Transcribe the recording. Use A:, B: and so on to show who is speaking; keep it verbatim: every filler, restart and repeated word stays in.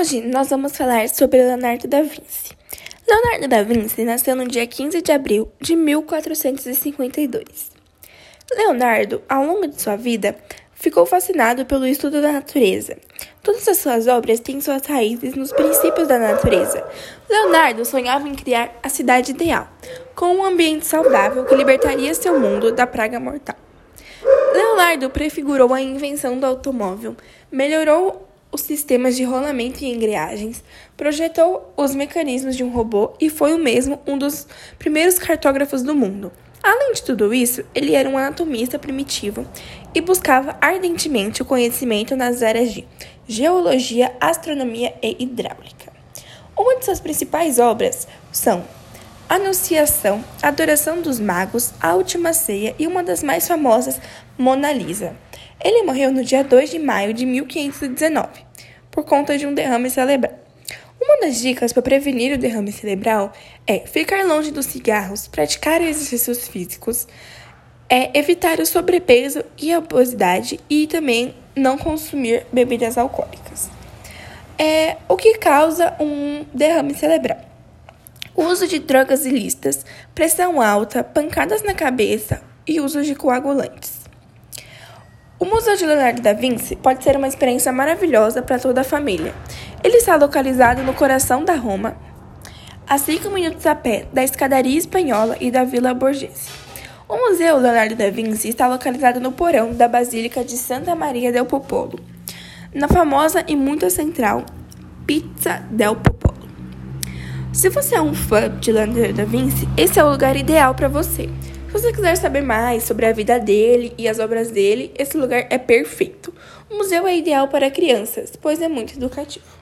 A: Hoje nós vamos falar sobre Leonardo da Vinci. Leonardo da Vinci nasceu no dia quinze de abril de mil quatrocentos e cinquenta e dois. Leonardo, ao longo de sua vida, ficou fascinado pelo estudo da natureza. Todas as suas obras têm suas raízes nos princípios da natureza. Leonardo sonhava em criar a cidade ideal, com um ambiente saudável que libertaria seu mundo da praga mortal. Leonardo prefigurou a invenção do automóvel, melhorou os sistemas de rolamento e embreagens, projetou os mecanismos de um robô e foi o mesmo um dos primeiros cartógrafos do mundo. Além de tudo isso, ele era um anatomista primitivo e buscava ardentemente o conhecimento nas áreas de geologia, astronomia e hidráulica. Uma de suas principais obras são Anunciação, Adoração dos Magos, A Última Ceia e uma das mais famosas, Mona Lisa. Ele morreu no dia dois de maio de mil quinhentos e dezenove, por conta de um derrame cerebral. Uma das dicas para prevenir o derrame cerebral é ficar longe dos cigarros, praticar exercícios físicos, é evitar o sobrepeso e a obesidade e também não consumir bebidas alcoólicas. É o que causa um derrame cerebral: o uso de drogas ilícitas, pressão alta, pancadas na cabeça e uso de coagulantes. O Museu de Leonardo da Vinci pode ser uma experiência maravilhosa para toda a família. Ele está localizado no coração da Roma, a cinco minutos a pé da Escadaria Espanhola e da Vila Borghese. O Museu Leonardo da Vinci está localizado no porão da Basílica de Santa Maria del Popolo, na famosa e muito central Piazza del Popolo. Se você é um fã de Leonardo da Vinci, esse é o lugar ideal para você. Se você quiser saber mais sobre a vida dele e as obras dele, esse lugar é perfeito. O museu é ideal para crianças, pois é muito educativo.